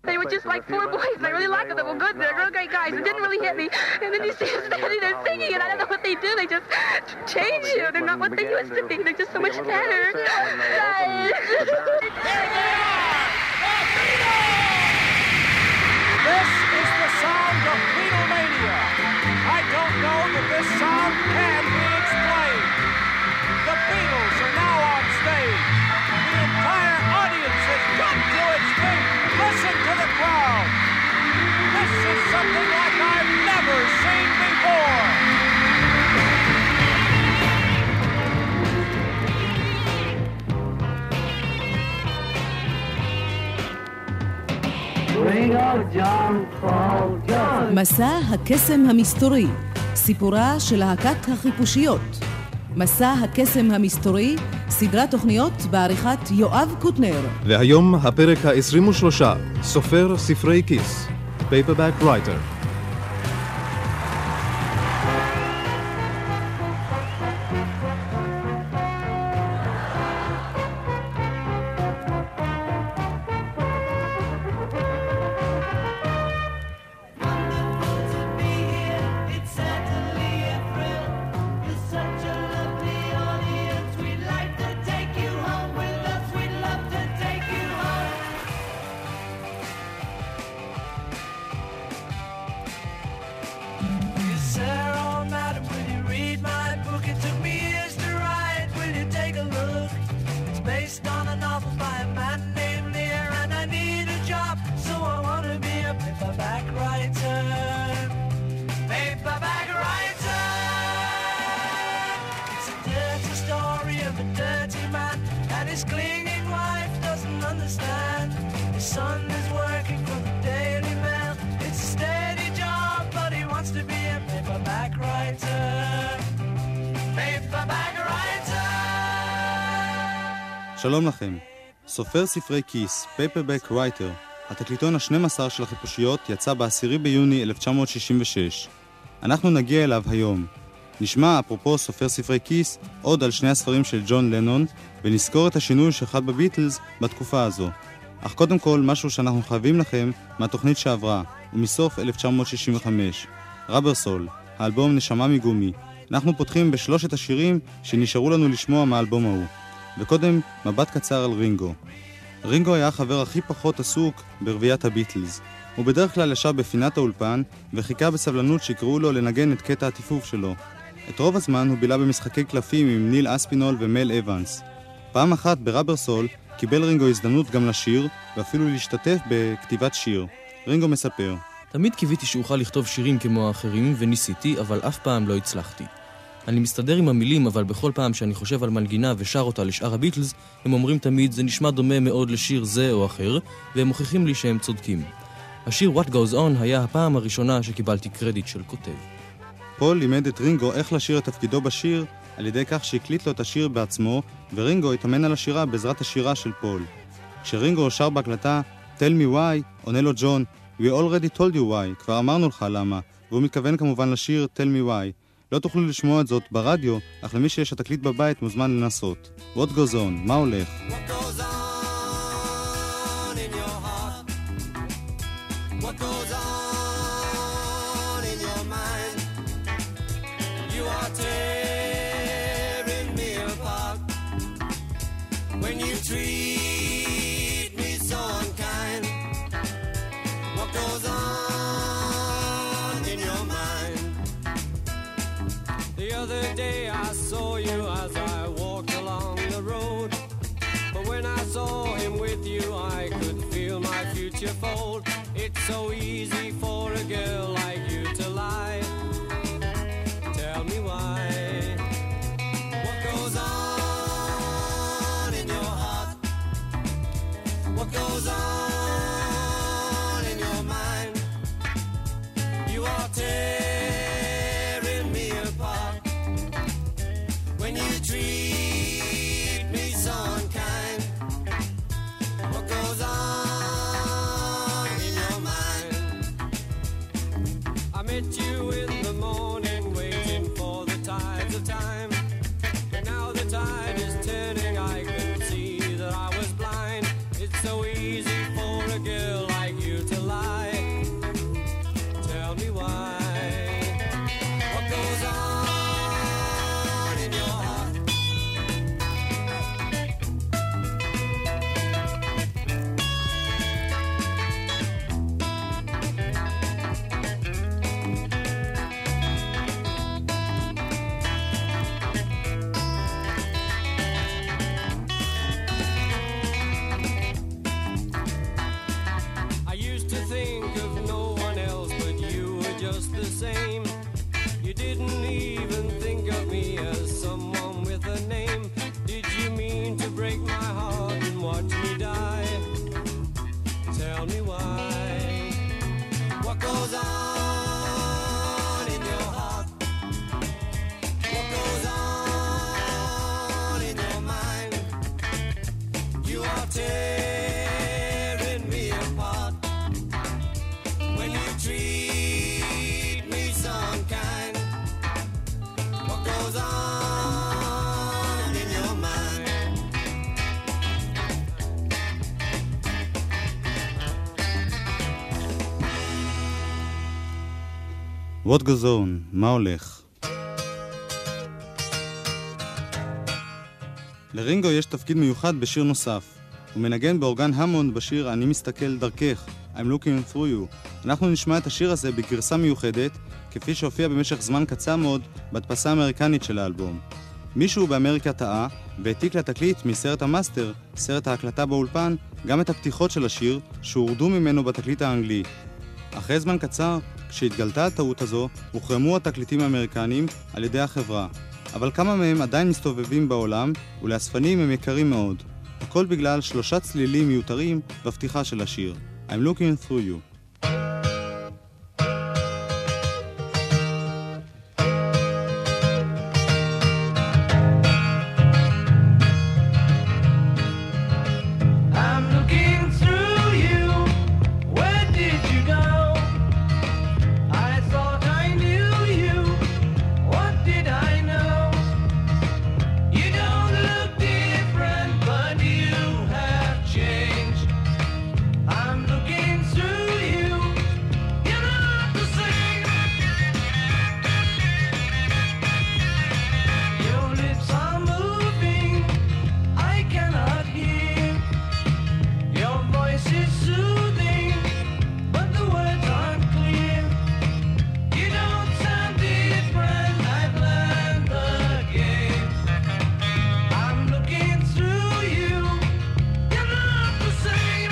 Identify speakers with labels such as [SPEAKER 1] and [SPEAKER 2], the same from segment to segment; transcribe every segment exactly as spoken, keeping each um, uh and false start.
[SPEAKER 1] They were just like four boys, and I really liked them. They were good. They're real great guys. It didn't really hit me. And then you see them standing there singing, and I don't know what they do. They just change you. They're not what they used to be. They're just so much better.
[SPEAKER 2] This is the sound of Beatlemania. I don't know that this sound can be explained. The Beatles are now on stage. The entire audience has come to its feet. Listen to the crowd. This is something like I've never seen before.
[SPEAKER 3] מסע הקסם המסתורי, סיפורה של להקת החיפושיות. מסע הקסם המסתורי, סדרת תוכניות בעריכת יואב קוטנר.
[SPEAKER 4] והיום הפרק ה-עשרים ושלוש, סופר ספרי כיס, Paperback Writer. שלום לכם. סופר ספרי כיס, Paperback Writer, התקליטון ה-שנים עשר של החיפושיות, יצא ב-עשירי ביוני אלף תשע מאות שישים ושש. אנחנו נגיע אליו היום. נשמע, אפרופו סופר ספרי כיס, עוד על שני הספרים של ג'ון לנון, ונזכור את השינוי שחד בביטלס בתקופה הזו. אך קודם כל, משהו שאנחנו חייבים לכם מהתוכנית שעברה, ומסוף אלף תשע מאות שישים וחמש. רבר סול, האלבום נשמה מגומי. אנחנו פותחים בשלושת השירים שנשארו לנו לשמוע מהאלבום ההוא. וקודם, מבט קצר על רינגו. רינגו היה החבר הכי פחות עסוק ברביית הביטלס. הוא בדרך כלל ישב בפינת האולפן וחיכה בסבלנות שיקראו לו לנגן את קטע הטיפוף שלו. את רוב הזמן הוא בילה במשחקי קלפים עם ניל אספינול ומל אבנס. פעם אחת ברבר סול קיבל רינגו הזדמנות גם לשיר ואפילו להשתתף בכתיבת שיר. רינגו מספר:
[SPEAKER 5] תמיד קיוויתי שאוכל לכתוב שירים כמו האחרים וניסיתי, אבל אף פעם לא הצלחתי. אני מסתדר עם המילים, אבל בכל פעם שאני חושב על מנגינה ושר אותה לשאר הביטלס, הם אומרים תמיד, זה נשמע דומה מאוד לשיר זה או אחר, והם מוכיחים לי שהם צודקים. השיר What Goes On היה הפעם הראשונה שקיבלתי קרדיט של כותב.
[SPEAKER 4] פול לימד את רינגו איך לשיר את תפקידו בשיר, על ידי כך שהקליט לו את השיר בעצמו, ורינגו התאמן על השירה בעזרת השירה של פול. כשרינגו שר בהקלטה Tell me why, עונה לו ג'ון, We already told you why, כבר אמרנו לך למה, והוא מתכוון כמובן לשיר Tell me why. לא תוכלו לשמוע את זאת ברדיו, אך למי שיש התקליט בבית מוזמן לנסות. What goes on? מה הולך?
[SPEAKER 6] What goes on in your heart? What goes on in your mind? You are tearing me apart when you treat me so unkind. What goes on in your mind? The other day I saw you as I walked along the road, but when I saw him with you I could feel my future fold. It's so easy for a girl like you to lie. Tell me why. What goes on in your heart? What goes on in your mind? You are tearing me apart when you treat me so unkind. What goes on in your mind? I met you in the morning waiting for the tides of time, and now the tide is turning. I can see that I was blind. It's so easy for a girl like you just the same. You didn't even think of me as someone with a name. Did you mean to break my heart and watch me die? Tell me why. What goes on in your heart? What goes on in your mind? You are tearing me apart when you treat me so unkind. What goes on in your mind?
[SPEAKER 4] What goes on? מה הולך? לרינגו יש תפקיד מיוחד בשיר נוסף. הוא מנגן באורגן המונד בשיר אני מסתכל דרכך, I'm looking through you. אנחנו נשמע את השיר הזה בגרסה מיוחדת, כפי שהופיע במשך זמן קצר מאוד בהדפסה האמריקנית של האלבום. מישהו באמריקה טעה והעתיק לתקליט מסרט המאסטר, סרט ההקלטה באולפן, גם את הפתיחות של השיר שהורדו ממנו בתקליט האנגלי. אחרי זמן קצר, כשהתגלתה הטעות הזו, הוחרמו התקליטים האמריקניים על ידי החברה. אבל כמה מהם עדיין מסתובבים בעולם, ולאספנים הם יקרים מאוד. הכל בגלל שלושה צלילים מיותרים בפתיחה של השיר. I'm looking through you.
[SPEAKER 7] I'm looking through you. Where did you go? I thought I knew you. What did I know? You don't look different, but you have changed. I'm looking through you. You're not the same. Your lips are moving. I cannot hear. Your voice is soothing, but the words aren't clear. You don't sound different. I've learned the game. I'm looking through you. You're not the same.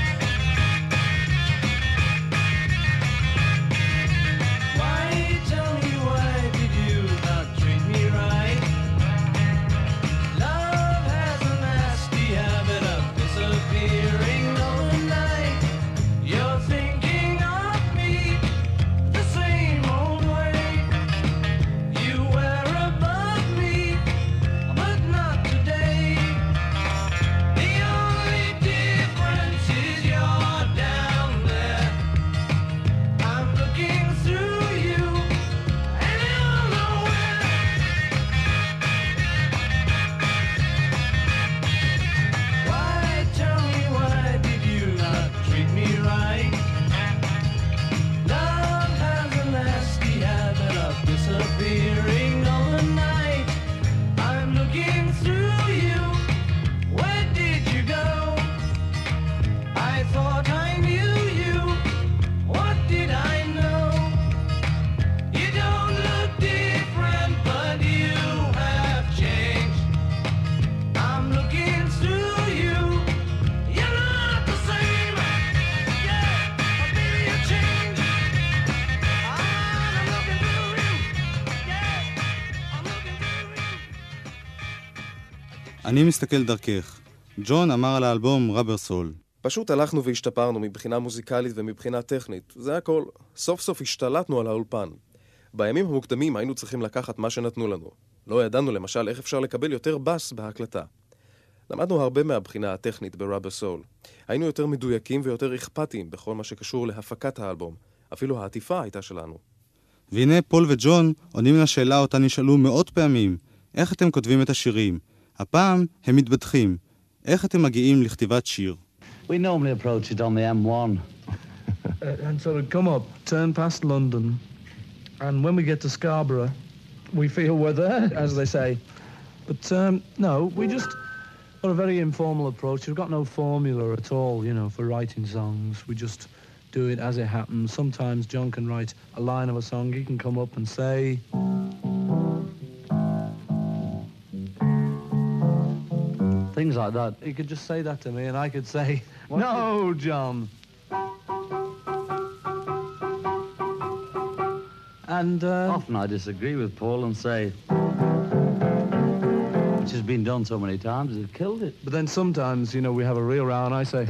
[SPEAKER 7] Why, tell me, why did you not treat me right? Love has a nasty habit of disappearing overnight. You're thinking of me the same old way. You were above me, but not today. The only difference is you're down there. I'm looking through you, and you're nowhere. Why, tell me, why did you not treat me right? Love has a nasty habit of disappearing overnight. I'm looking through you. Where did you go? I thought I knew you. What did I know? You don't look different, but you have changed. I'm looking through you. You're not the same. Yeah, maybe you changed. I'm looking through you. Yeah, I'm looking through you.
[SPEAKER 4] אני מסתכל דרכך. ג'ון אמר על האלבום רבר סול.
[SPEAKER 8] פשוט הלכנו והשתפרנו מבחינה מוזיקלית ומבחינה טכנית. זה הכל. סוף סוף השתלטנו על האולפן. בימים המוקדמים היינו צריכים לקחת מה שנתנו לנו. לא ידענו למשל איך אפשר לקבל יותר בס בהקלטה. למדנו הרבה מהבחינה הטכנית ברבר סול. היינו יותר מדויקים ויותר אכפתיים בכל מה שקשור להפקת האלבום. אפילו העטיפה הייתה שלנו.
[SPEAKER 4] והנה פול וג'ון עונים לשאלה אותה נשאלו מאות פעמים. איך אתם כותבים את השירים? הפעם הם מתבדחים. איך אתם מגיעים לכתיבת שיר?
[SPEAKER 9] We normally approach it on the M one.
[SPEAKER 10] uh, and sort of come up, turn past London, and when we get to Scarborough, we feel we're there, as they say. But um, no, we just got a very informal approach. We've got no formula at all, you know, for writing songs. We just do it as it happens. Sometimes John can write a line of a song. He can come up and say... things like that. He could just say that to me and I could say, no, John. And uh,
[SPEAKER 9] Often I disagree with Paul and say it's just been done so many times, it killed it.
[SPEAKER 10] but then sometimes, you know, we have a real row and I say,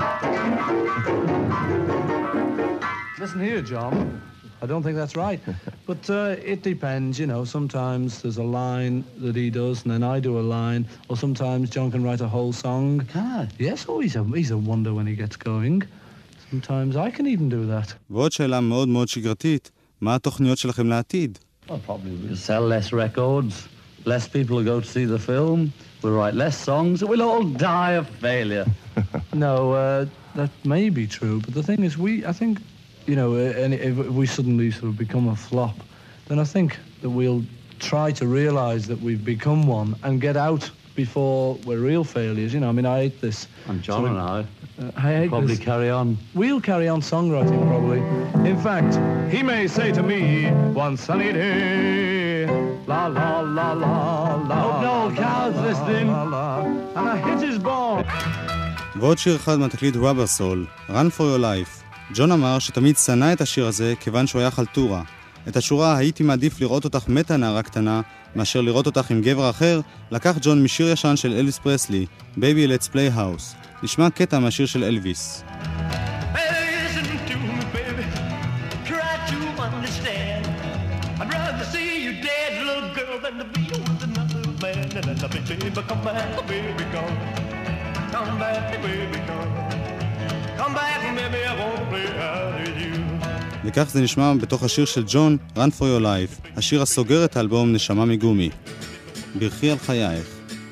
[SPEAKER 10] listen here, John, I don't think that's right. But uh, it depends, you know, sometimes there's a line that he does and then I do a line, or sometimes John can write a whole song.
[SPEAKER 9] Can I?
[SPEAKER 10] Yes, oh, he's a, he's a wonder when he gets going. Sometimes I can even do that.
[SPEAKER 4] ועוד שאלה מאוד מאוד שגרתית, מה התוכניות שלכם לעתיד?
[SPEAKER 9] Well, probably we'll sell less records, less people will go to see the film, we'll write less songs, we'll all die of failure.
[SPEAKER 10] No, uh, that may be true, but the thing is, we, I think, you know, uh, and if we suddenly sort of become a flop, then I think that we'll try to realize that we've become one and get out before we're real failures. You know, I mean, I hate this.
[SPEAKER 9] And John
[SPEAKER 10] sort of,
[SPEAKER 9] and I
[SPEAKER 10] uh, I hate
[SPEAKER 9] probably
[SPEAKER 10] this.
[SPEAKER 9] carry on.
[SPEAKER 10] We'll carry on songwriting, probably. In fact, he may say to me, one sunny day, la la la la la.
[SPEAKER 9] Hope no cows listening.
[SPEAKER 10] La, la, and I hit his ball.
[SPEAKER 4] ועוד שיר אחד מהתקליט Rubber Soul, Run for Your Life. ג'ון אמר שתמיד שנא את השיר הזה כיוון שהוא היה חלטורה. את השורה "הייתי מעדיף לראות אותך מתה נערה קטנה מאשר לראות אותך עם גבר אחר" לקח ג'ון משיר ישן של אלוויס פרסלי, Baby Let's Play House. נשמע קטע מהשיר של אלוויס.
[SPEAKER 7] Listen to me, baby. Try to understand. I'd rather see you dead, little girl, than to be with another man. And I love you, baby. Come back, baby, come. Come back, baby, come. Come back, baby, I won't play out with you.
[SPEAKER 4] וכך זה נשמע בתוך השיר של ג'ון, Run for Your Life, השיר הסוגר את האלבום נשמה מגומי. ברכי על חייך.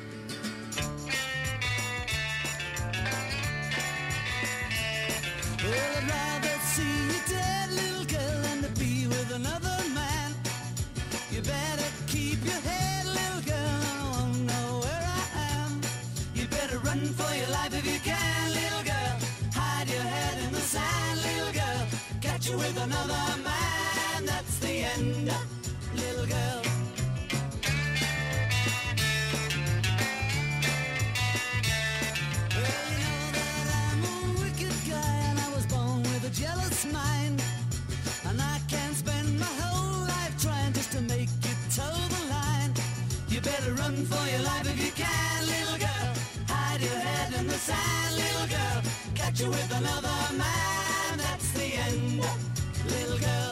[SPEAKER 11] With another man, that's the end, little girl. Well, you know that I'm a wicked guy, and I was born with a jealous mind, and I can't spend my whole life trying just to make you toe the line. You better run for your life if you can, little girl. Hide your head in the sand, little girl. Catch you with another man, that's the end, little girl.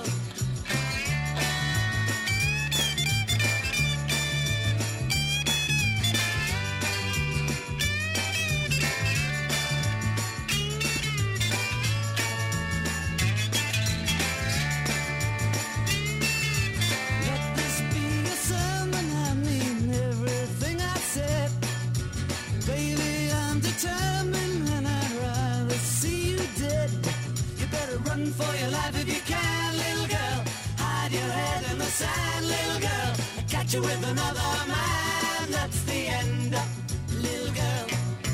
[SPEAKER 11] Let this be a sermon, I mean everything I said. Baby, I'm determined and I'd rather see you dead. You better run for your life if you can, little girl. Hide your head in the sand, little girl. Catch you with another man, that's the end, little girl.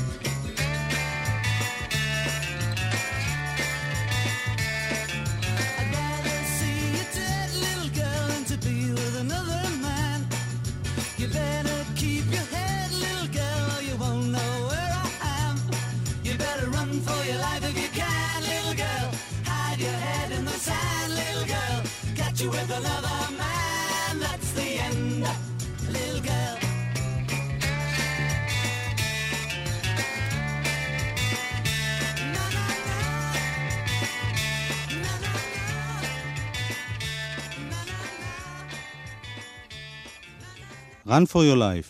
[SPEAKER 11] I'd rather see you dead, little girl, than to be with another man. You better keep your head, little girl, or you won't know where I am. You better run for your life if you can, little girl. Hide your head in the sand, little girl. Catch you with another man, that's the end, little girl. Na, na, na. Na, na, na. Na, na, na.
[SPEAKER 4] Run for Your Life.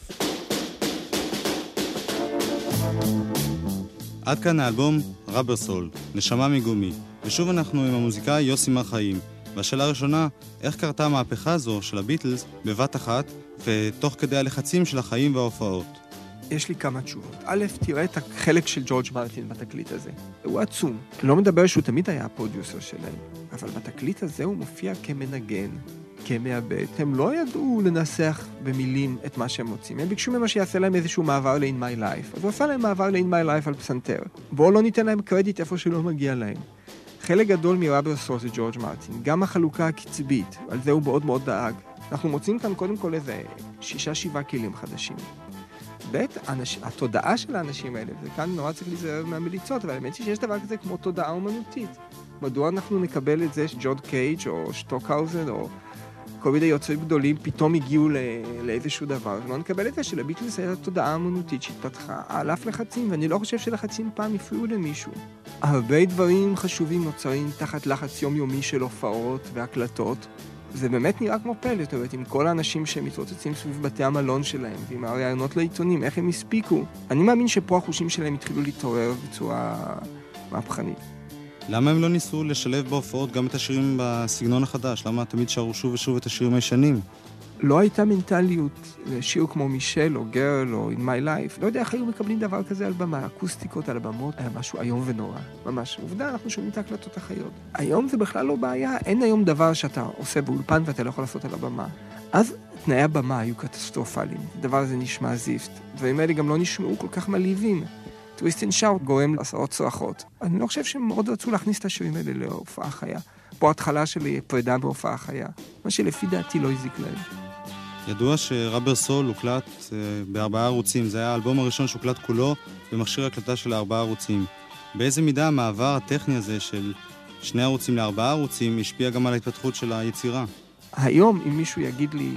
[SPEAKER 4] עד כאן האלבום Rubber Soul, נשמה מגומי. ושוב אנחנו עם המוזיקאי יוסי מר חיים. והשאלה הראשונה, איך קרתה המהפכה הזו של הביטלס בבת אחת ותוך כדי הלחצים של החיים וההופעות?
[SPEAKER 12] יש לי כמה תשובות. א', תראה את החלק של ג'ורג' מרטין בתקליט הזה. הוא עצום. אני לא מדבר שהוא תמיד היה הפרודיוסר שלהם, אבל בתקליט הזה הוא מופיע כמנגן, כמעבד. הם לא ידעו לנסח במילים את מה שהם מוצאים. הם ביקשו ממה שיעשה להם איזשהו מעבר ל-In My Life. אז הוא עשה להם מעבר ל-In My Life על פסנתר. בואו לא ניתן להם קרדיט איפה שלא מגיע להם. חלק גדול מרבר סול זה ג'ורג' מרטין. גם החלוקה הקצבית, על זה הוא מאוד מאוד דאג. אנחנו מוצאים כאן קודם כל איזה שישה, שבעה כלים חדשים. ב', אנש... התודעה של האנשים האלה, וכאן נורא צריך להיזהר מהמליצות, אבל האמת שיש דבר כזה כמו תודעה אומנותית. מדוע אנחנו נקבל את זה שג'ון קייג' או שטוקהאוזן או כל מיני יוצרים גדולים פתאום הגיעו ל- לאיזשהו דבר. לא נקבל את זה שלביטלס הייתה תודעה אמנותית שהתפתחה על אף לחצים, ואני לא חושב שלחצים פעם הפריעו למישהו. הרבה דברים חשובים נוצרים תחת לחץ יומיומי של הופעות והקלטות. זה באמת נראה כמו פלא, זאת אומרת, עם כל האנשים שמתרוצצים סביב בתי המלון שלהם, ועם הרעיונות לעיתונים, איך הם הספיקו. אני מאמין שפה החושים שלהם התחילו להתעורר בצורה מהפכנית.
[SPEAKER 4] למה הם לא ניסו לשלב בהופעות גם את השירים בסגנון החדש? למה תמיד שרו שוב ושוב את השירים הישנים?
[SPEAKER 12] לא הייתה מנטליות לשיר כמו מישל או גרל או In My Life. לא יודע איך היו מקבלים דבר כזה על במה. אקוסטיקות על הבמות היה משהו איום ונורא. ממש. עובדה, אנחנו שומעים את ההקלטות החיות. היום זה בכלל לא בעיה. אין היום דבר שאתה עושה באולפן ואתה לא יכול לעשות על הבמה. אז תנאי הבמה היו קטסטרופליים. הדבר הזה נשמע זיפט. דברים האלה גם לא נשמעו כל כך מלהיבים. טוויסט אנד שאוט גורם לעשרות צרחות. אני לא חושב שהם מאוד רצו להכניס את השירים האלה להופעה חיה. פה התחלה שלי פרידה בהופעה חיה. מה שלפי דעתי לא הזיק להם.
[SPEAKER 4] ידוע שרבר סול הוקלט uh, בארבעה ערוצים. זה היה האלבום הראשון שהוקלט כולו במכשיר הקלטה של ארבעה ערוצים. באיזה מידה המעבר הטכני הזה של שני ערוצים לארבעה ערוצים השפיע גם על ההתפתחות של היצירה? היום,
[SPEAKER 12] אם מישהו יגיד לי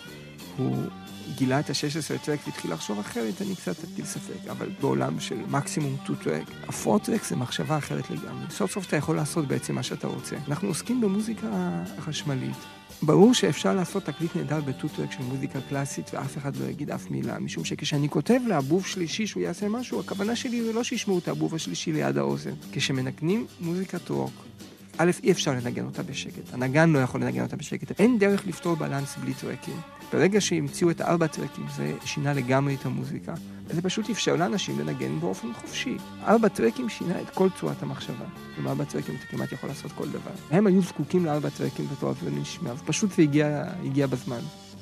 [SPEAKER 12] שהוא גילה את ה-שש עשרה טרק והתחיל לחשוב אחרת, אני קצת אטיל ספק. אבל בעולם של מקסימום שתיים טרק, ה-ארבע טרק זה מחשבה אחרת לגמרי. סוף סוף אתה יכול לעשות בעצם מה שאתה רוצה. אנחנו עוסקים במוזיקה החשמלית. ברור שאפשר לעשות תקליט נהדר בטוטרק של מוזיקה קלאסית ואף אחד לא יגיד אף מילה, משום שכשאני כותב לאבוב שלישי שהוא יעשה משהו, הכוונה שלי זה לא שישמעו את האבוב השלישי ליד האוזן. כשמנגנים מוזיקת רוק, א', אי אפשר לנגן אותה בשקט. הנגן לא יכול לנגן אותה בשקט. אין דרך לפתור בלנס בלי טרקים. ברגע שהמציאו את הארבע טרקים, זה שינה לגמרי את המוזיקה. זה פשוט אפשר לאנשים לנגן באופן חופשי. ארבע טרקים שינה את כל צורת המחשבה. עם ארבע טרקים אתה כמעט יכול לעשות כל דבר. הם היו זקוקים לארבע טרקים בתור זה נשמע, ופשוט זה הגיע, הגיע בזמן.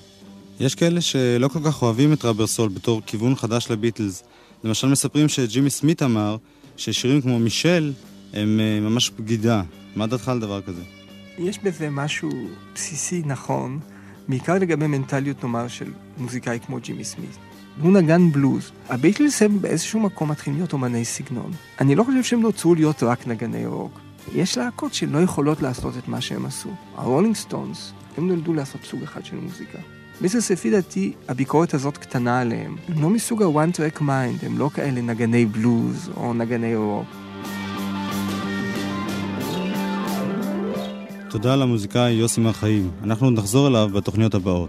[SPEAKER 12] יש כאלה שלא כל כך אוהבים את רבר סול בתור כיוון חדש לביטלס. למשל מספרים שג'ימי סמית אמר ששירים כמו מישל הם ממש בגידה. מה דעתך על דבר כזה? יש בזה משהו בסיסי נכון, בעיקר לגבי מנטליות נאמר של מוזיקאי כמו ג'ימי סמית. הוא נגן בלוז. הביטלס הם באיזשהו מקום מתחילים להיות אומני סגנון. אני לא חושב שהם נוצרו להיות רק נגני רוק. יש להקות שלא יכולות לעשות את מה שהם עשו. הרולינג סטונס, הם נולדו לעשות סוג אחד של מוזיקה. ביטלס לפי דעתי, הביקורת הזאת קטנה עליהם. הם לא מסוג ה-one track mind, הם לא כאלה נגני בלוז או נגני רוק. תודה למוזיקאי יוסי מרחיים. אנחנו נחזור אליו בתוכניות הבאות.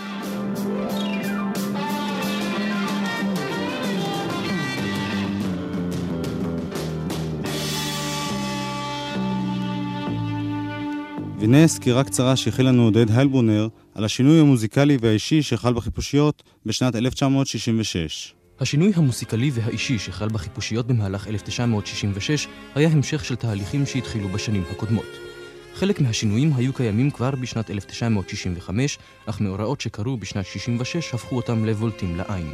[SPEAKER 12] והנה סקירה קצרה שהכיל לנו עודד היילברונר על השינוי המוזיקלי והאישי שחל בחיפושיות בשנת אלף תשע מאות שישים ושש.
[SPEAKER 5] השינוי המוסיקלי והאישי שחל בחיפושיות במהלך אלף תשע מאות שישים ושש היה המשך של תהליכים שהתחילו בשנים הקודמות. חלק מהשינויים היו קיימים כבר בשנת אלף תשע מאות שישים וחמש, אך מאורעות שקרו בשנת שישים ושש הפכו אותם לבולטים לעין.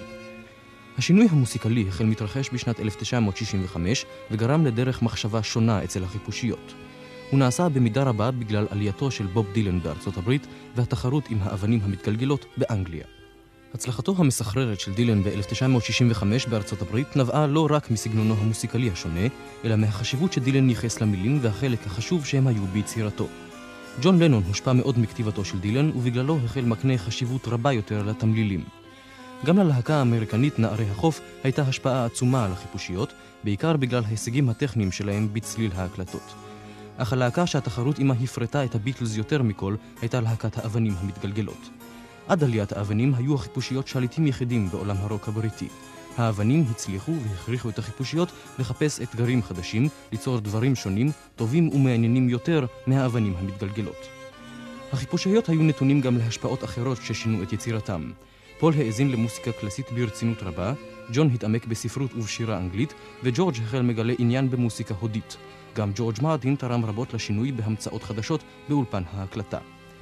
[SPEAKER 5] השינוי המוסיקלי החל מתרחש בשנת אלף תשע מאות שישים וחמש וגרם לדרך מחשבה שונה אצל החיפושיות. הוא נעשה במידה רבה בגלל עלייתו של בוב דילן בארצות הברית והתחרות עם האבנים המתגלגלות באנגליה. הצלחתו המסחררת של דילן ב-אלף תשע מאות שישים וחמש בארצות הברית נבעה לא רק מסגנונו המוסיקלי השונה, אלא מהחשיבות שדילן ייחס למילים והחלק החשוב שהם היו ביצירתו. ג'ון לנון הושפע מאוד מכתיבתו של דילן, ובגללו החל מקנה חשיבות רבה יותר לתמלילים. גם ללהקה האמריקנית נערי החוף הייתה השפעה עצומה על החיפושיות, בעיקר בגלל ההישגים הטכניים שלהם בצליל ההקלטות. אך הלהקה שהתחרות עמה הפרטה את הביטלס יותר מכל הייתה להקת האבנים המתגלגלות. עד עליית האבנים היו החיפושיות שליטים יחידים בעולם הרוק הבריטי. האבנים הצליחו והכריחו את החיפושיות לחפש אתגרים חדשים, ליצור דברים שונים, טובים ומעניינים יותר מהאבנים המתגלגלות. החיפושיות היו נתונים גם להשפעות אחרות ששינו את יצירתם. פול האזין למוסיקה קלאסית ברצינות רבה, ג'ון התעמק בספרות ובשירה אנגלית, וג'ורג' החל מגלה עניין במוסיקה הודית. גם ג'ורג' מרטין תרם רבות לשינוי בהמצאות חדשות באולפן ההקלטה.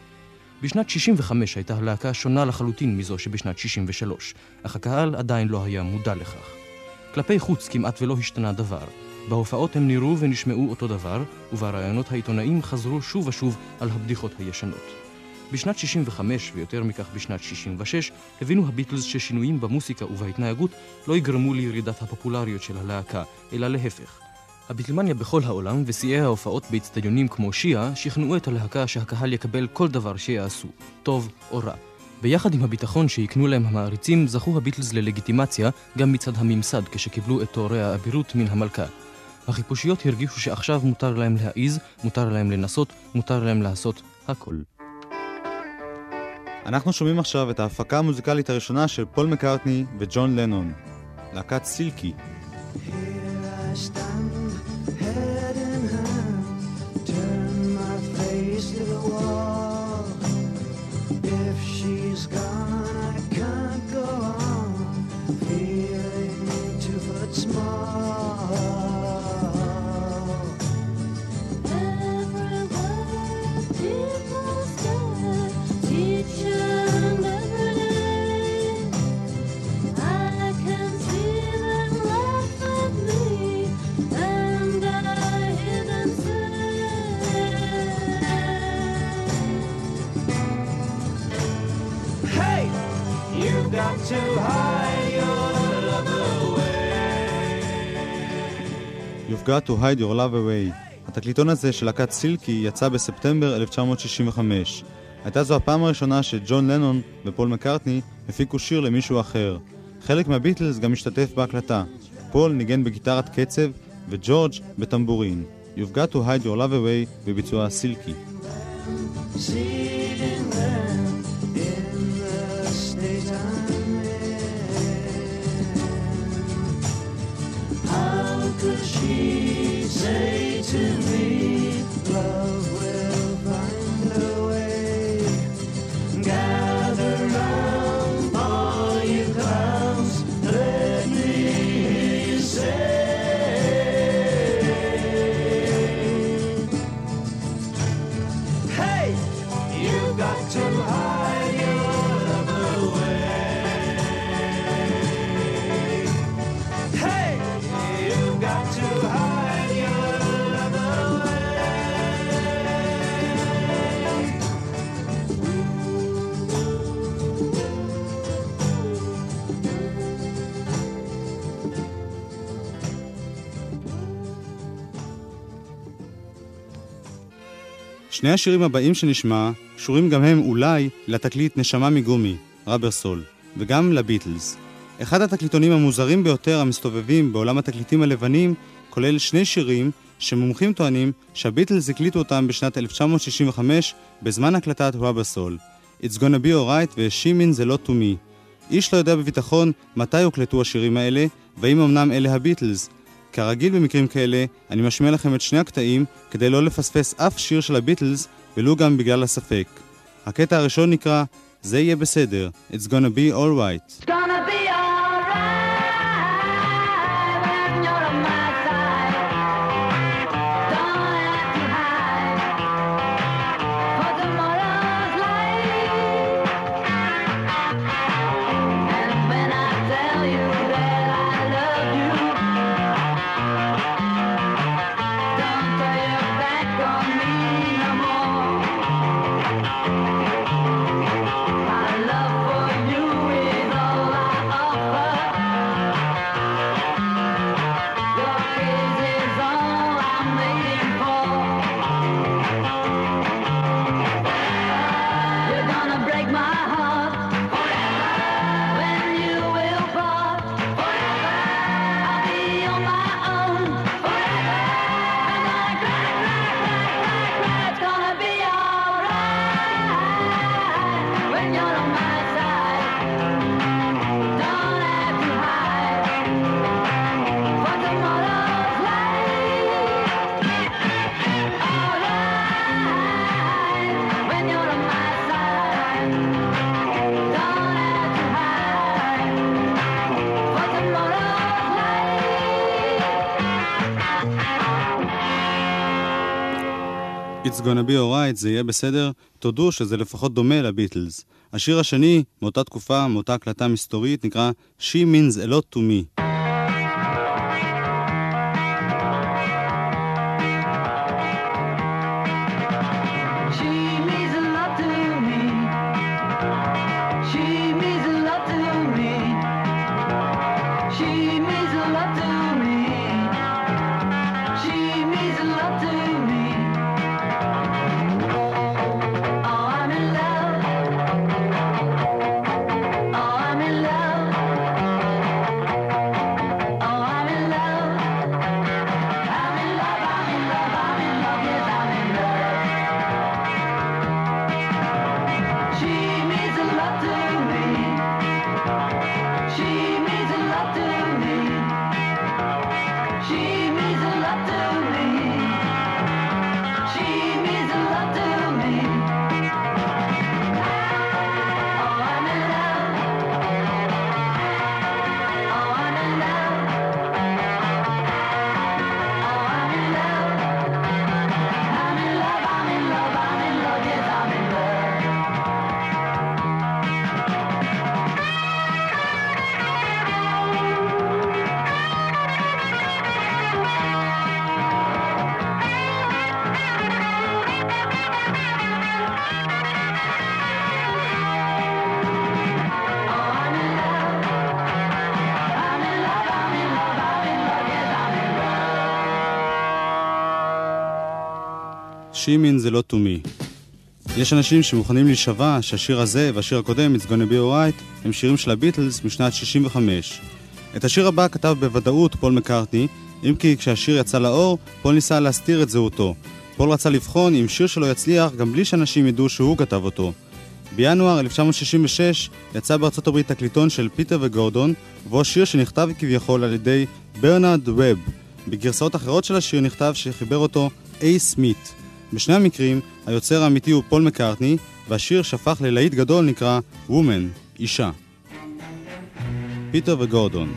[SPEAKER 5] בשנת שישים וחמש הייתה הלהקה שונה לחלוטין מזו שבשנת שישים ושלוש, אך הקהל עדיין לא היה מודע לכך. כלפי חוץ כמעט ולא השתנה דבר. בהופעות הם נראו ונשמעו אותו דבר, וברעיונות העיתונאים חזרו שוב ושוב על הבדיחות הישנות. בשנת שישים וחמש ויותר מכך בשנת שישים ושש הבינו הביטלס ששינויים במוסיקה ובהתנהגות לא יגרמו לירידת הפופולריות של הלהקה, אלא להפך. הביטלמניה בכל העולם ושיאי ההופעות באצטדיונים כמו שיעה שכנעו את הלהקה שהקהל יקבל כל דבר שיעשו, טוב או רע. ביחד עם הביטחון שיקנו להם המעריצים, זכו הביטלס ללגיטימציה גם מצד הממסד כשקיבלו את תוארי האבירות מן המלכה. החיפושיות הרגישו שעכשיו מותר להם להעיז, מותר להם לנסות, מותר להם לעשות הכל.
[SPEAKER 4] אנחנו שומעים עכשיו את ההפקה המוזיקלית הראשונה של פול מקארטני וג'ון לנון, להקת סילקי.
[SPEAKER 11] Here I stand, head in hand, turn my face to the wall. If she's gone, I can't go on, feeling two foot small. Everywhere people stare, each and every day. I can see them laugh at me, and I hear them say,
[SPEAKER 7] Hey, you've got to hide your love away.
[SPEAKER 4] You've got to hide your love away. התקליטון הזה של להקת סילקי יצא בספטמבר אלף תשע מאות שישים וחמש. הייתה זו הפעם הראשונה שג'ון לנון ופול מקארטני הפיקו שיר למישהו אחר. חלק מהביטלס גם השתתף בהקלטה. פול ניגן בגיטרת קצב וג'ורג' בטמבורין. You've got to hide your love away בביצוע סילקי.
[SPEAKER 11] seeing them in the state I'm in. How could she say to me, love will find a way? Gather round all you clowns, let me hear you say,
[SPEAKER 7] Hey, you've got to hide your love away. Hey, you've got to hide your love away.
[SPEAKER 4] שני השירים הבאים שנשמע קשורים גם הם אולי לתקליט נשמה מגומי, רבר סול, וגם לביטלס. אחד התקליטונים המוזרים ביותר המסתובבים בעולם התקליטים הלבנים כולל שני שירים שמומחים טוענים שהביטלס הקליטו אותם בשנת אלף תשע מאות שישים וחמש בזמן הקלטת רבר סול. It's gonna be alright ו-She means a lot to me. איש לא יודע בביטחון מתי הוקלטו השירים האלה והאם אמנם אלה הביטלס. כרגיל במקרים כאלה, אני משמיע לכם את שני הקטעים כדי לא לפספס אף שיר של הביטלס, ולו גם בגלל הספק. הקטע הראשון נקרא זה יהיה בסדר, It's gonna be alright.
[SPEAKER 11] It's gonna be alright when you're on my side. Don't have to hide for tomorrow's light. And when I tell you that I love you, don't turn your back on me no more. My love for you is all I offer. Your kiss is all I'm waiting for. You're gonna break my heart forever when you will part. Forever I'll be on my own. Forever I'm gonna cry, cry, cry, cry, cry. It's gonna be alright when you're on my side. Don't have to hide for tomorrow's light. Alright when you're on my side. Don't have to hide for tomorrow's light.
[SPEAKER 4] It's gonna be alright, זה יהיה בסדר. תודו שזה לפחות דומה לביטלס. השיר השני, מאותה תקופה, מאותה הקלטה מסתורית, נקרא She means a lot to me.
[SPEAKER 11] She means a lot to me. She means a lot to me. She means a lot to me. She
[SPEAKER 4] She means a lot to me. יש אנשים שמוכנים להישבע שהשיר הזה והשיר הקודם, It's Gonna Be Alright, הם שירים של הביטלס משנת שישים וחמש. את השיר הבא כתב בוודאות פול מקארטני, אם כי כשהשיר יצא לאור, פול ניסה להסתיר את זהותו. פול רצה לבחון אם שיר שלו יצליח גם בלי שאנשים ידעו שהוא כתב אותו. בינואר אלף תשע מאות שישים ושש יצא בארצות הברית תקליטון של פיטר וגורדון, ובו שיר שנכתב כביכול על ידי ברנרד ווב. בגרסאות אחרות של השיר נכתב שחיבר אותו איי סמית. בשני המקרים, היוצר האמיתי הוא פול מקארטני, והשיר שהפך ללהיט גדול נקרא Woman, אישה. פיטר וגורדון.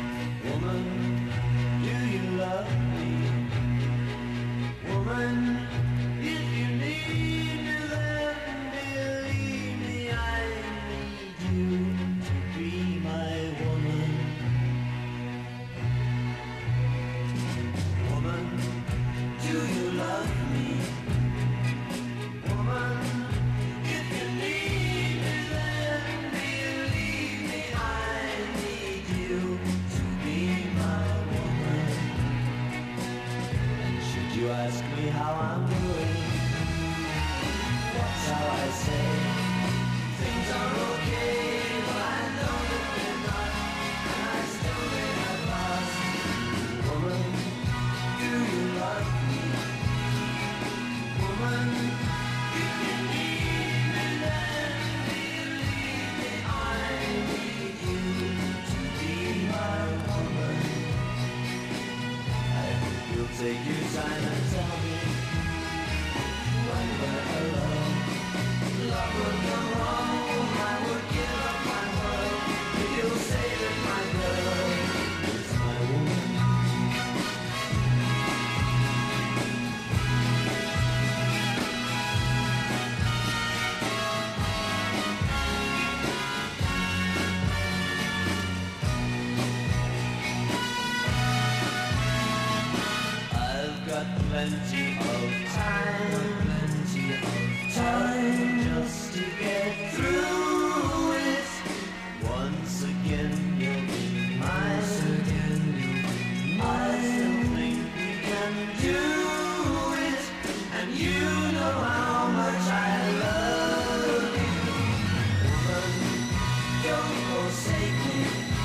[SPEAKER 7] Plenty of time, plenty of time just to get through it. Once again, you'll be mine. Again, I still think we can do it, and you know how much I love you. Woman, don't forsake me.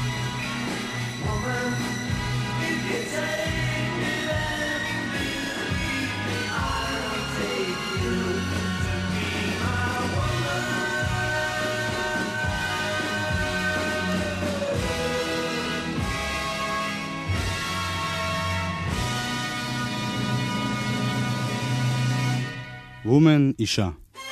[SPEAKER 7] Woman, if you take me there.
[SPEAKER 4] Woman, אישה.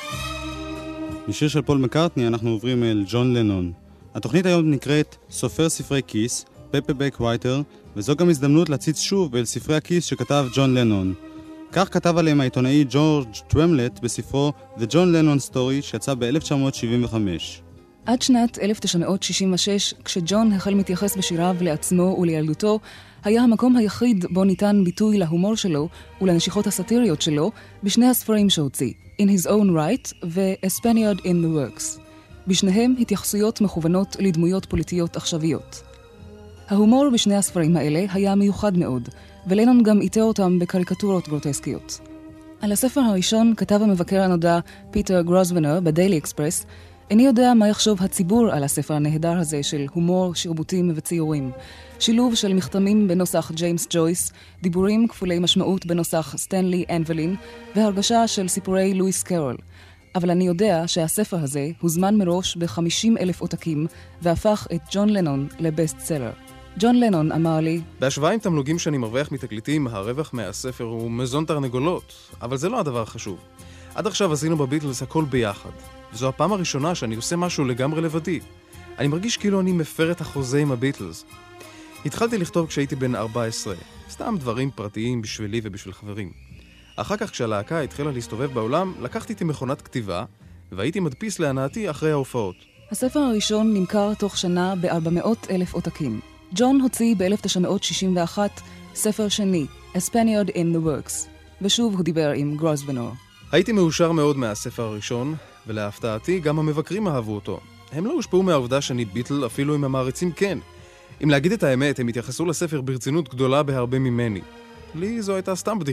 [SPEAKER 4] משיר של פול מקארטני אנחנו עוברים אל ג'ון לנון. התוכנית היום נקראת סופר ספרי כיס, פפרבק רייטר, וזו גם הזדמנות להציץ שוב אל ספרי הכיס שכתב ג'ון לנון. כך כתב עליהם העיתונאי ג'ורג' טרמלט בספרו The John Lennon Story שיצא ב-אלף תשע מאות שבעים וחמש.
[SPEAKER 13] עד שנת אלף תשע מאות שישים ושש, כשג'ון החל מתייחס בשיריו לעצמו ולילדותו, היה המקום היחיד בו ניתן ביטוי להומור שלו ולנשיכות הסאטיריות שלו בשני הספרים שהוציא, In His Own Right ו-A Spaniard in the Works. בשניהם התייחסויות מכוונות לדמויות פוליטיות עכשוויות. ההומור בשני הספרים האלה היה מיוחד מאוד, ולנון גם איתר אותם בקריקטורות גרוטסקיות. על הספר הראשון כתב המבקר הנודע פיטר גרוסוונר בדיילי אקספרס, איני יודע מה יחשוב הציבור על הספר הנהדר הזה של הומור, שרבוטים וציורים. שילוב של מכתמים בנוסח ג'יימס ג'ויס, דיבורים כפולי משמעות בנוסח סטנלי אנבלין, והרגשה של סיפורי לואיס קרול. אבל אני יודע שהספר הזה הוזמן מראש ב-חמישים אלף עותקים, והפך את ג'ון לנון לבסט סלר. ג'ון לנון אמר לי,
[SPEAKER 8] בהשוואה עם תמלוגים שאני מרוויח מתקליטים, הרווח מהספר הוא מזון תרנגולות, אבל זה לא הדבר החשוב. עד עכשיו עשינו בביטלס הכל ביחד, וזו הפעם הראשונה שאני עושה משהו לגמרי לבדי. אני מרגיש כאילו אני מפר את החוזה עם הביטלס. התחלתי לכתוב כשהייתי בן ארבע עשרה, סתם דברים פרטיים בשבילי ובשביל חברים. אחר כך כשהלהקה התחילה להסתובב בעולם, לקחתי איתי מכונת כתיבה, והייתי מדפיס להנאתי אחרי ההופעות.
[SPEAKER 13] הספר הראשון נמכר תוך שנה ב-ארבע מאות אלף עותקים. ג'ון הוציא ב-אלף תשע מאות שישים ואחת ספר שני, A Spaniard in the Works, ושוב הוא דיבר עם גרוסוונר.
[SPEAKER 8] הייתי מאושר מאוד מהספר הראשון, ולהפתעתי גם המבקרים אהבו אותו. הם לא הושפעו מהעובדה שאני ביטל, אפילו אם המעריצים כן. אם להגיד את האמת, הם התייחסו לספר ברצינות גדולה בהרבה ממני. לי זו הייתה סתם בדיחה.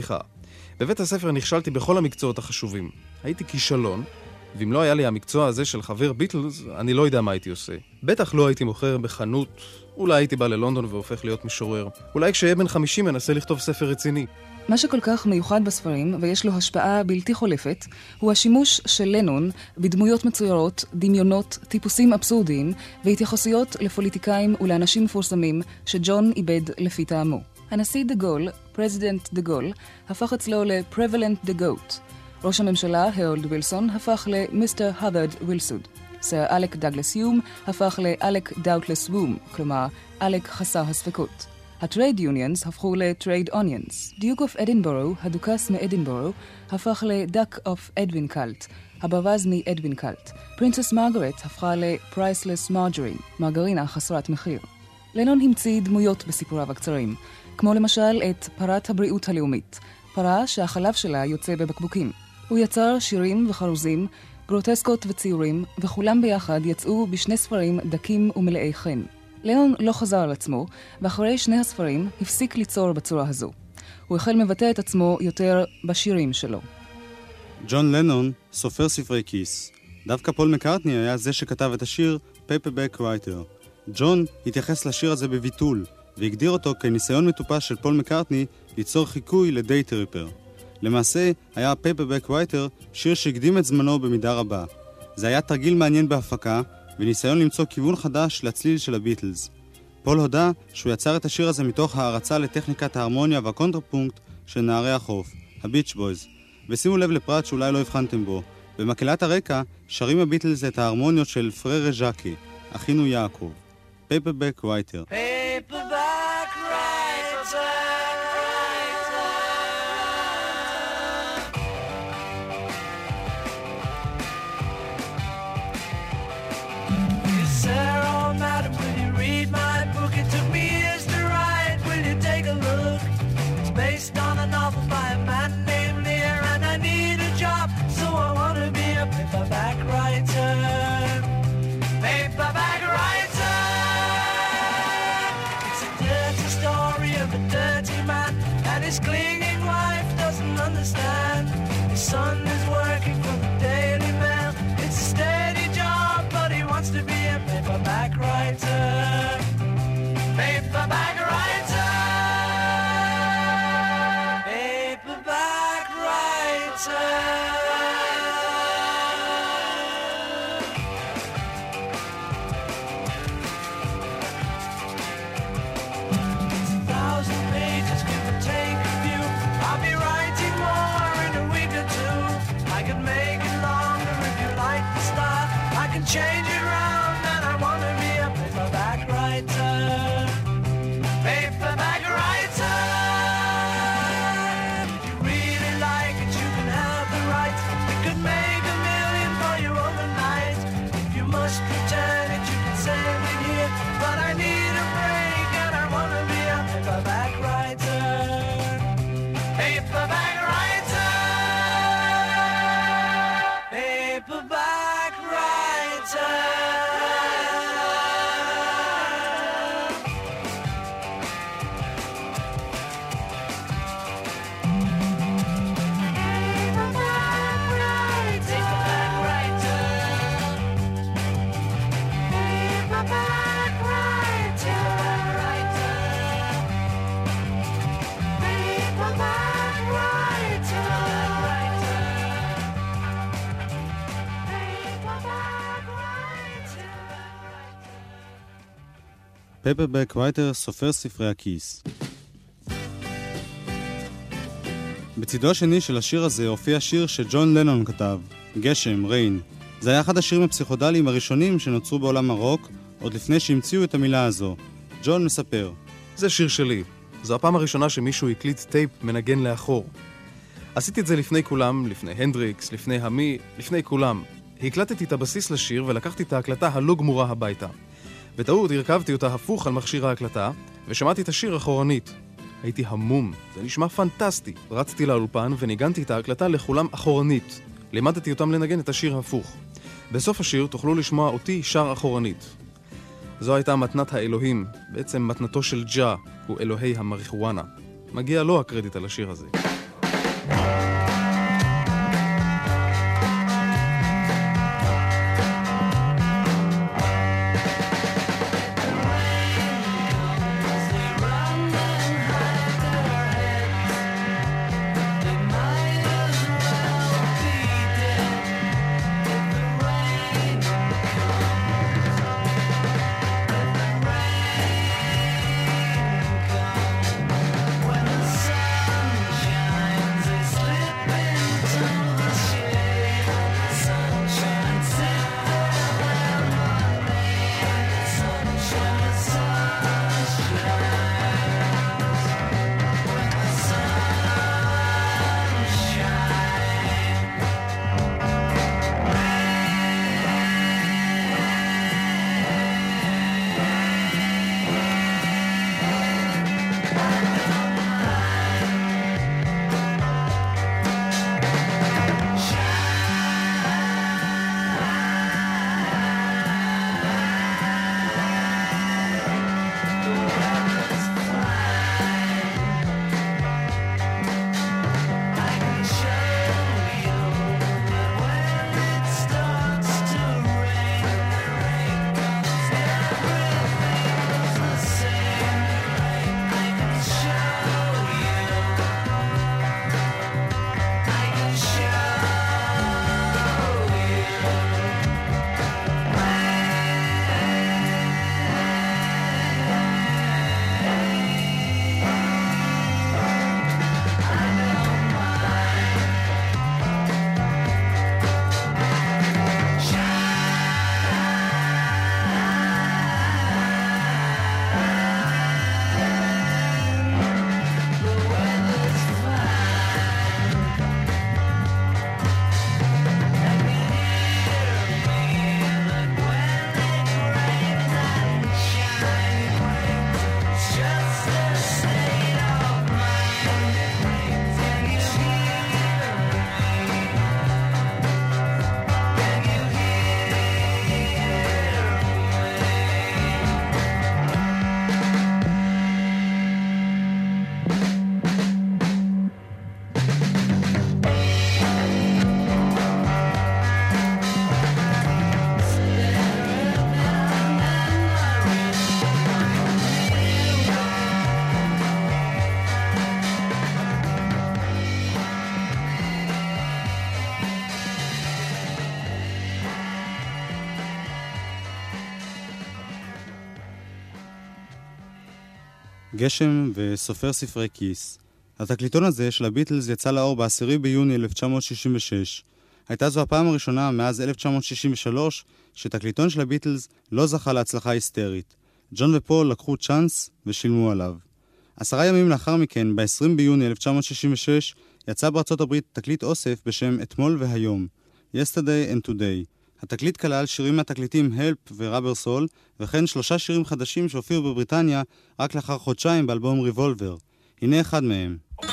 [SPEAKER 8] בבית הספר נכשלתי בכל המקצועות החשובים. הייתי כישלון, ואם לא היה לי המקצוע הזה של חבר ביטלס, אני לא יודע מה הייתי עושה. בטח לא הייתי מוכר בחנות, אולי הייתי בא ללונדון והופך להיות משורר. אולי כשהיה בן חמישים מנסה לכתוב ספר רציני.
[SPEAKER 13] מה שכל כך מיוחד בספרים, ויש לו השפעה בלתי חולפת, הוא השימוש של לנון בדמויות מצוירות, דמיונות, טיפוסים אבסורדיים, והתייחסויות לפוליטיקאים ולאנשים מפורסמים שג'ון איבד לפי טעמו. הנשיא דה גול, פרזידנט דה גול, הפך אצלו ל-Prevalent the Goat. ראש הממשלה, הרולד וילסון, הפך למיסטר הווארד וילסוד. סר אלק דאגלס יום הפך לאלק דאוטלס וום, כלומר, אלק חסר הספקות. הטרייד יוניונס הפכו לטרייד אוניונס. דיוק אוף אדינבורו, הדוכס מאדינבורו, הפך לדק אוף אדווין קלט, הברווז מאדווין קלט. פרינסס מרגרט הפכה לפרייסלס מרג'רין, מרגרינה חסרת מחיר. לנון המציא דמויות בסיפוריו הקצרים, כמו למשל את פרת הבריאות הלאומית, פרה שהחלב שלה יוצא בבקבוקים. הוא יצר שירים וחרוזים, גרוטסקות וציורים, וכולם ביחד יצאו בשני ספרים דקים ומלאי חן. לנון לא חזר על עצמו, ואחרי שני הספרים הפסיק ליצור בצורה הזו. הוא החל מבטא את עצמו יותר בשירים שלו.
[SPEAKER 4] ג'ון לנון, סופר ספרי כיס. דווקא פול מקארטני היה זה שכתב את השיר Paperback Writer. ג'ון התייחס לשיר הזה בביטול, והגדיר אותו כניסיון מטופש של פול מקארטני ליצור חיקוי לדייט ריפר. למעשה, היה Paperback Writer שיר שהקדים את זמנו במידה רבה. זה היה תרגיל מעניין בהפקה, וניסיון למצוא כיוון חדש לצליל של הביטלס. פול הודה שהוא יצר את השיר הזה מתוך הערצה לטכניקת ההרמוניה והקונטרפונקט של נערי החוף, הביץ' בויז. ושימו לב לפרט שאולי לא הבחנתם בו. במקהלת הרקע שרים הביטלס את ההרמוניות של פררה ז'קי, אחינו יעקב. Paperback Writer.
[SPEAKER 11] Paperback writer. Yes, sir, oh, madam, will you read my book? It took me years to write. Will you take a look? It's based on a novel by a man named Lear, and I need a job, so I want to be a paperback writer. Paperback writer. Of a dirty man, and his clinging wife doesn't understand. His son is working for the Daily Mail. It's a steady job, but he wants to be a paperback writer. Paperback writer. Paperback writer. Change it round, and I want to be a paperback writer. Paperback writer. If you really like it, you can have the rights. It could make a million for you overnight. If you must return it, you can send it here. But I need a break, and I want to be a paperback writer. Paperback writer. Paperback writer.
[SPEAKER 4] Paperback Writer, סופר ספרי הכיס. בצידו השני של השיר הזה הופיע שיר שג'ון לנון כתב, גשם, ריין. זה היה אחד השירים הפסיכודליים הראשונים שנוצרו בעולם הרוק, עוד לפני שהמציאו את המילה הזו. ג'ון מספר.
[SPEAKER 8] זה שיר שלי. זו הפעם הראשונה שמישהו הקליט טייפ מנגן לאחור. עשיתי את זה לפני כולם, לפני הנדריקס, לפני המי, לפני כולם. הקלטתי את הבסיס לשיר ולקחתי את ההקלטה הלא גמורה הביתה. בטעות הרכבתי אותה הפוך על מכשיר ההקלטה, ושמעתי את השיר אחורנית. הייתי המום, זה נשמע פנטסטי. רצתי לאולפן וניגנתי את ההקלטה לכולם אחורנית. לימדתי אותם לנגן את השיר הפוך. בסוף השיר תוכלו לשמוע אותי שר אחורנית. זו הייתה מתנת האלוהים, בעצם מתנתו של ג'ה, הוא אלוהי המריחואנה. מגיע לו הקרדיט על השיר הזה.
[SPEAKER 4] גשם וסופר ספרי כיס. התקליטון הזה של הביטלס יצא לאור בעשירי ביוני אלף תשע מאות שישים ושש. הייתה זו הפעם הראשונה מאז אלף תשע מאות שישים ושלוש שתקליטון של הביטלס לא זכה להצלחה היסטרית. ג'ון ופול לקחו צ'אנס ושילמו עליו. עשרה ימים לאחר מכן, ב-עשרים ביוני אלף תשע מאות שישים ושש, יצא בארצות הברית תקליט אוסף בשם אתמול והיום, Yesterday and Today. התקליט כלל שירים מהתקליטים Help ורבר סול, וכן שלושה שירים חדשים שהופיעו בבריטניה רק לאחר חודשיים באלבום ריבולבר. הנה אחד מהם.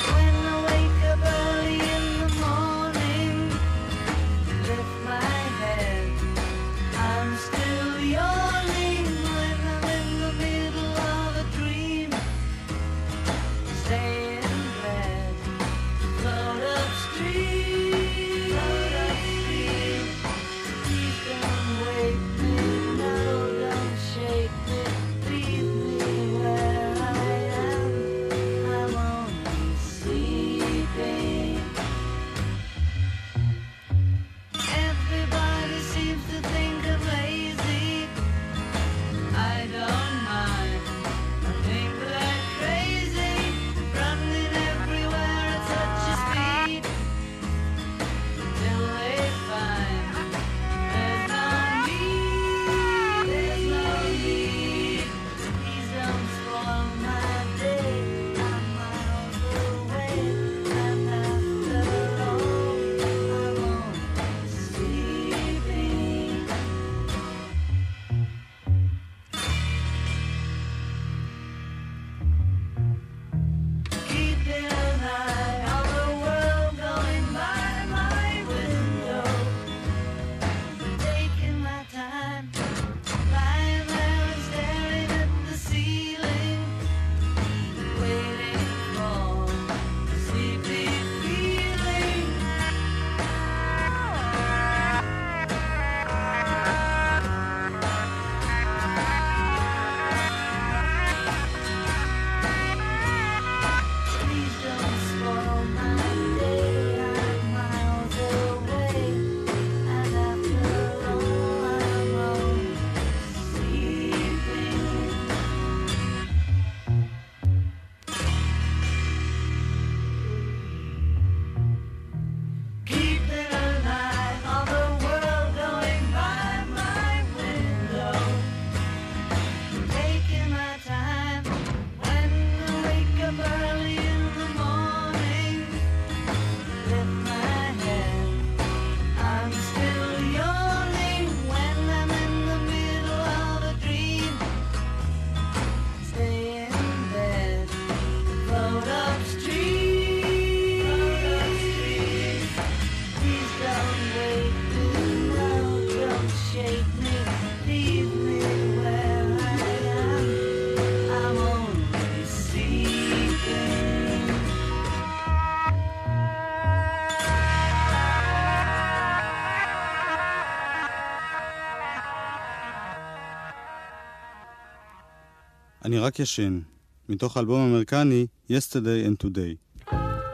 [SPEAKER 4] אני רק ישן, מתוך האלבום האמריקני Yesterday and Today.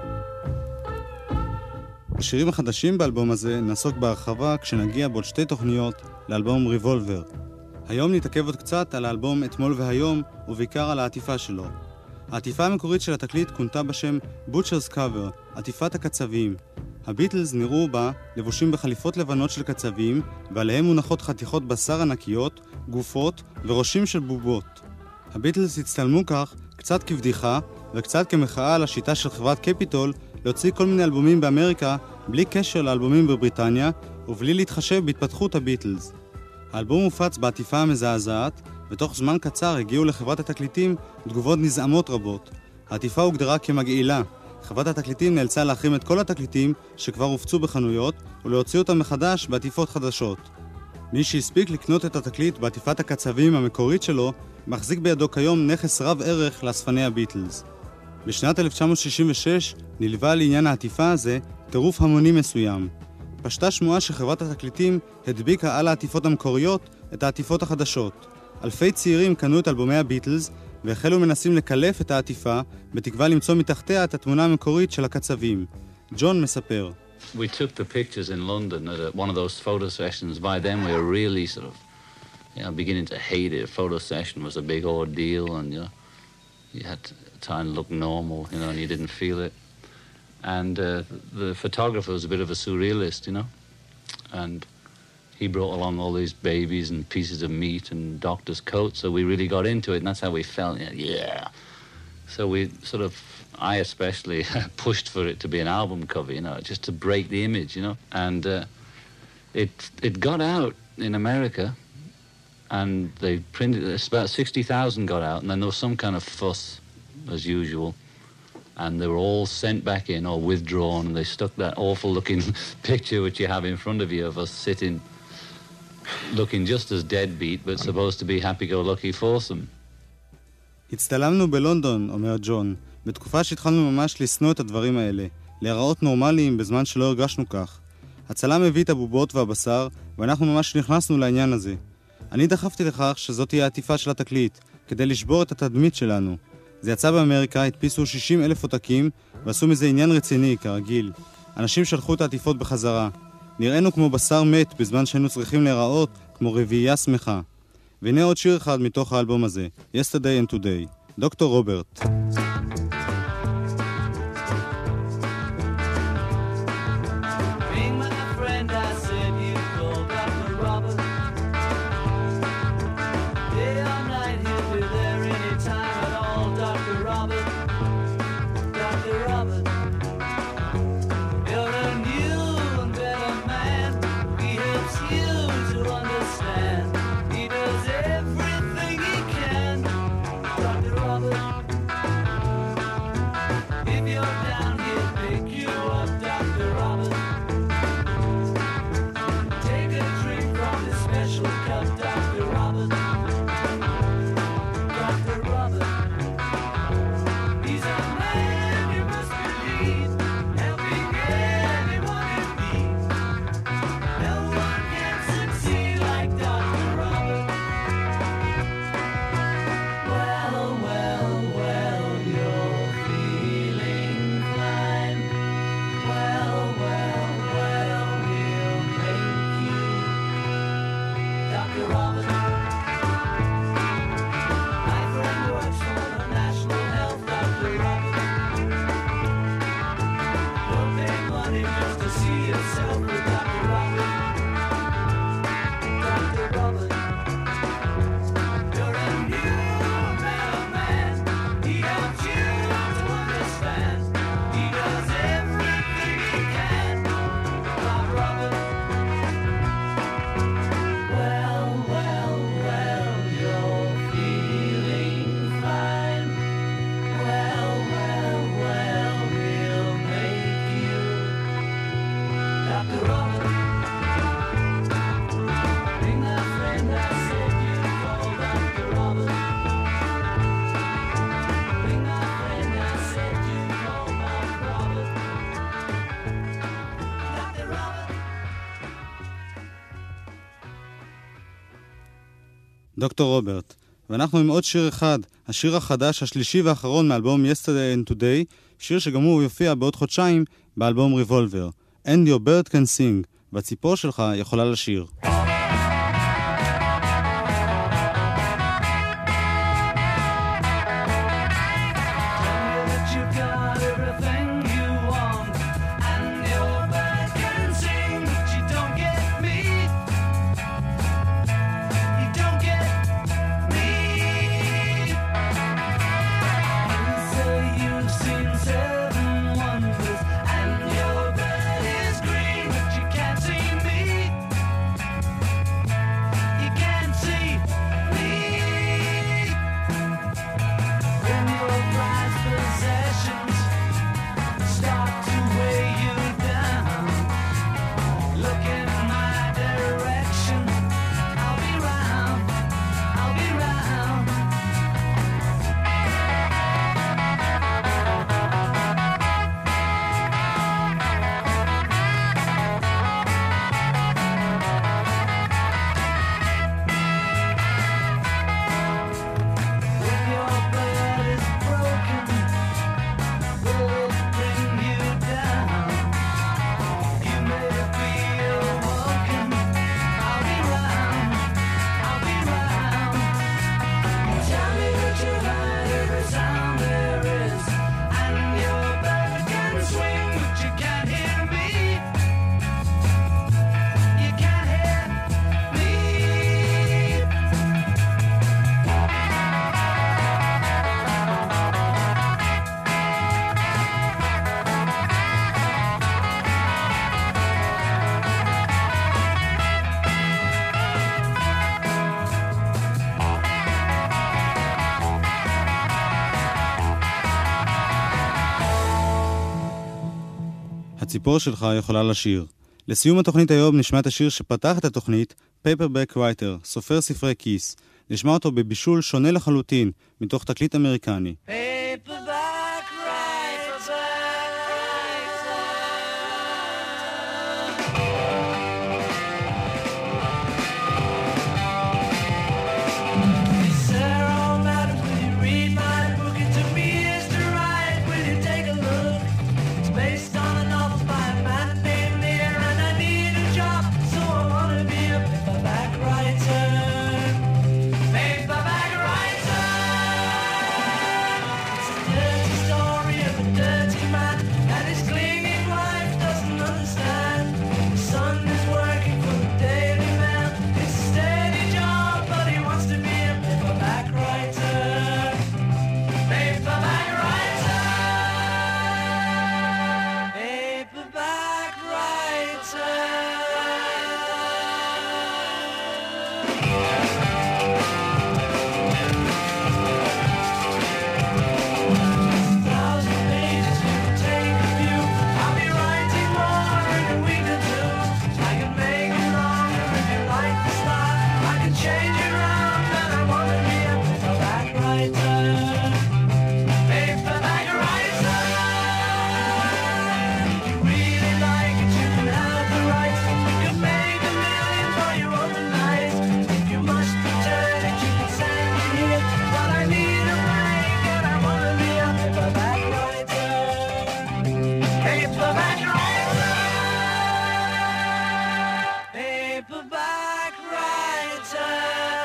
[SPEAKER 4] בשירים החדשים באלבום הזה נעסוק בהרחבה כשנגיע בעוד שתי תוכניות לאלבום ריבולבר. היום נתעכב עוד קצת על האלבום אתמול והיום, ובעיקר על העטיפה שלו. העטיפה המקורית של התקליט כונתה בשם Butcher's Cover, עטיפת הקצבים. הביטלס נראו בה לבושים בחליפות לבנות של קצבים, ועליהם מונחות חתיכות בשר ענקיות, גופות וראשים של בובות. הביטלס הצטלמו כך קצת כבדיחה וקצת כמחאה על השיטה של חברת קפיטול להוציא כל מיני אלבומים באמריקה בלי קשר לאלבומים בבריטניה ובלי להתחשב בהתפתחות הביטלס. האלבום הופץ בעטיפה המזעזעת, ותוך זמן קצר הגיעו לחברת התקליטים תגובות נזעמות רבות. העטיפה הוגדרה כמגעילה. חברת התקליטים נאלצה להחרים את כל התקליטים שכבר הופצו בחנויות ולהוציא אותם מחדש בעטיפות חדשות. מי שהספיק לקנות את התקליט בעטיפת הקצבים המקורית שלו מחזיק בידו כיום נכס רב ערך לאספני הביטלס. בשנת אלף תשע מאות שישים ושש נלווה לעניין העטיפה הזה טירוף המוני מסוים. פשטה שמועה שחברת התקליטים הדביקה על העטיפות המקוריות את העטיפות החדשות. אלפי צעירים קנו את אלבומי הביטלס והחלו מנסים לקלף את העטיפה בתקווה למצוא מתחתיה את התמונה המקורית של הקצבים. ג'ון מספר.
[SPEAKER 14] We took the pictures in London at a, one of those photo sessions. By then we were really sort of, you know, beginning to hate it. Photo session was a big ordeal, and you know, you had to try and look normal, you know, and you didn't feel it. And uh, the photographer was a bit of a surrealist, you know, and he brought along all these babies and pieces of meat and doctor's coats, so we really got into it, and that's how we felt, yeah. So we sort of, I especially, pushed for it to be an album cover, you know, just to break the image, you know. And uh, it it got out in America, and they printed, it's about sixty thousand got out, and then there was some kind of fuss, as usual. And they were all sent back in or withdrawn, and they stuck that awful-looking picture which you have in front of you of us sitting, looking just as deadbeat, but supposed to be happy-go-lucky foursome.
[SPEAKER 4] הצטלמנו בלונדון, אומר ג'ון, בתקופה שהתחלנו ממש לשנוא את הדברים האלה, להיראות נורמליים בזמן שלא הרגשנו כך. הצלם הביא את הבובות והבשר, ואנחנו ממש נכנסנו לעניין הזה. אני דחפתי לכך שזאת תהיה העטיפה של התקליט, כדי לשבור את התדמית שלנו. זה יצא באמריקה, הדפיסו שישים אלף עותקים, ועשו מזה עניין רציני, כרגיל. אנשים שלחו את העטיפות בחזרה. נראינו כמו בשר מת, בזמן שהיינו צריכים להיראות כמו רביעייה שמחה. והנה עוד שיר אחד מתוך האלבום הזה, Yesterday and Today, דוקטור רוברט. דוקטור רוברט, ואנחנו עם עוד שיר אחד, השיר החדש, השלישי והאחרון מאלבום Yesterday and Today, שיר שגם הוא יופיע בעוד חודשיים באלבום ריבולבר, And Your Bird Can Sing, והציפור שלך יכולה לשיר. הציפור שלך יכולה לשיר. לסיום התוכנית היום נשמע את השיר שפתח את התוכנית, Paperback Writer, סופר ספרי כיס. נשמע אותו בבישול שונה לחלוטין, מתוך תקליט אמריקני.
[SPEAKER 11] Paperback writer, Hey Sarah, oh madam, will you read my book? It took me years to write. Will you take a look? It's based on a novel by a man named Lear, and I need a job, so I want to be a paperback writer. Paperback writer. It's a dirty story of a dirty man, and his clinging wife doesn't understand. His son is working for the Daily Mail. It's a steady job, but he wants to be a paperback writer. Paperback writer. Paperback writer. Thousand pages you can take a few. I'll be writing more in a week or two. I can make it longer if you like the style. I can change it around, and I want to be a paperback writer. Paperback writer. If you really like it, you can have the rights. You can make a million for your own night. If you must return it, you can send it here. But I need a break, and I want to be a paperback writer. Paperback writer. Paperback writer.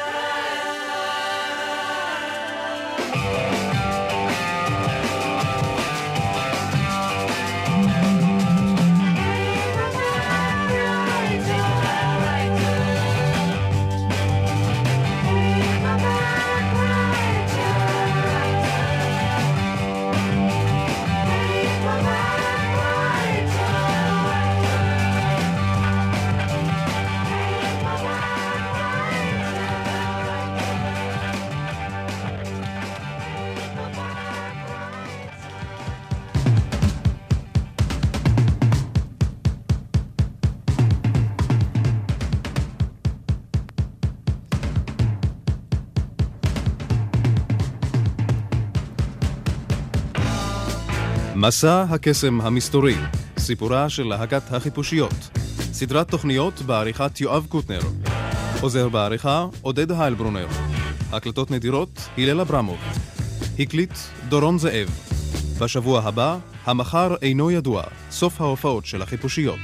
[SPEAKER 8] מסע הקסם המסתורי, סיפורה של להקת החיפושיות. סדרת תוכניות בעריכת יואב קוטנר. עוזר בעריכה עודד היילברונר. הקלטות נדירות הלל אברמוב. הקליט דורון זאב. בשבוע הבא, המחר אינו ידוע, סוף ההופעות של החיפושיות.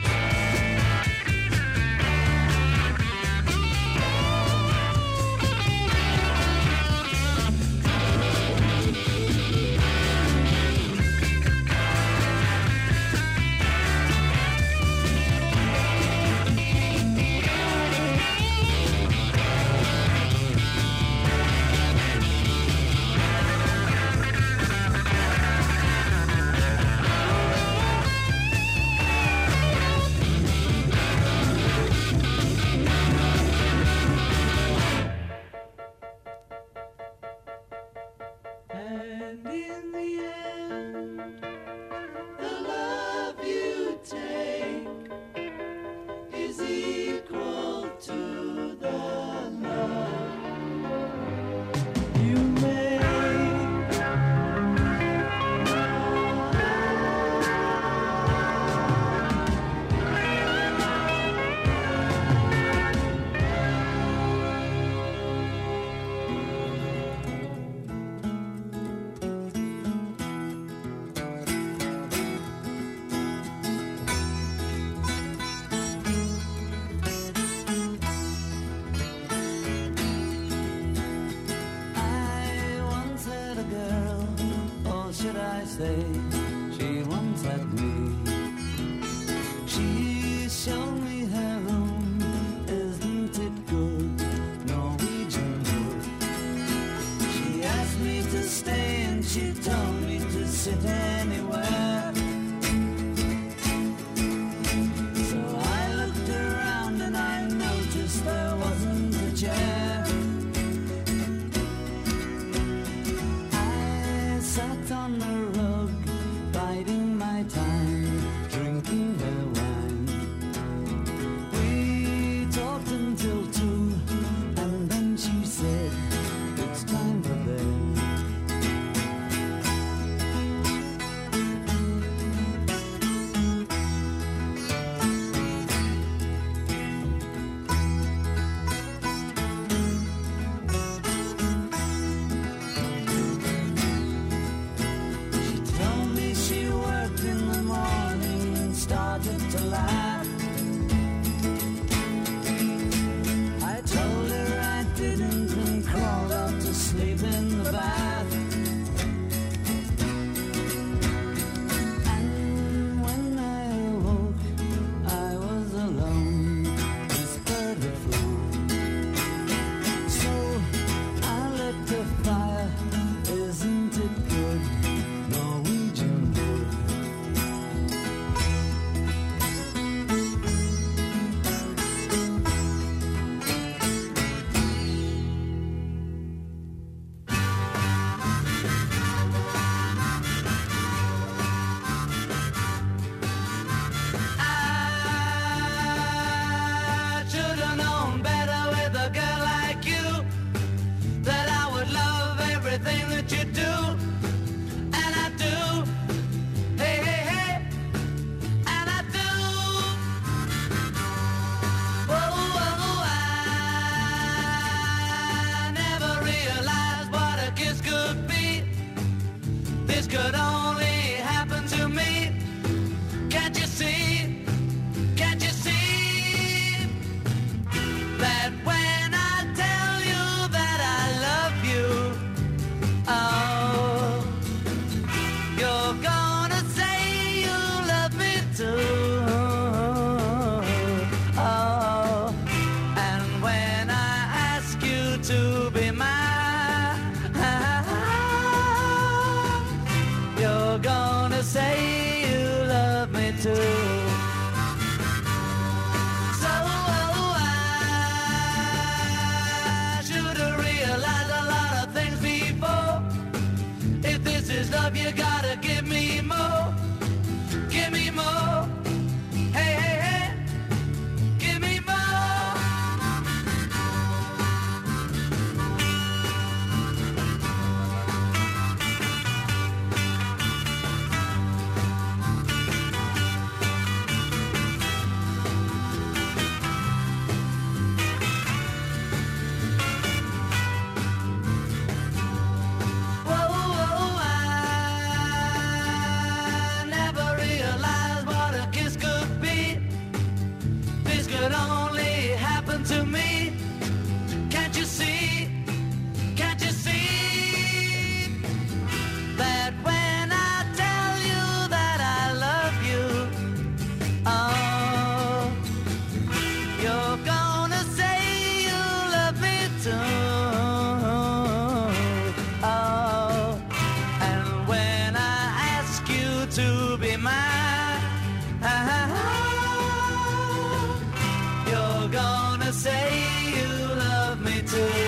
[SPEAKER 11] And in the end, the love you take is equal to the love you make. Say she once had me. She showed me her room. Isn't it good? Norwegian wood. She asked me to stay and she told me to sit anywhere. So I looked around and I noticed there wasn't a chair. I sat on the rug gonna say you love me too.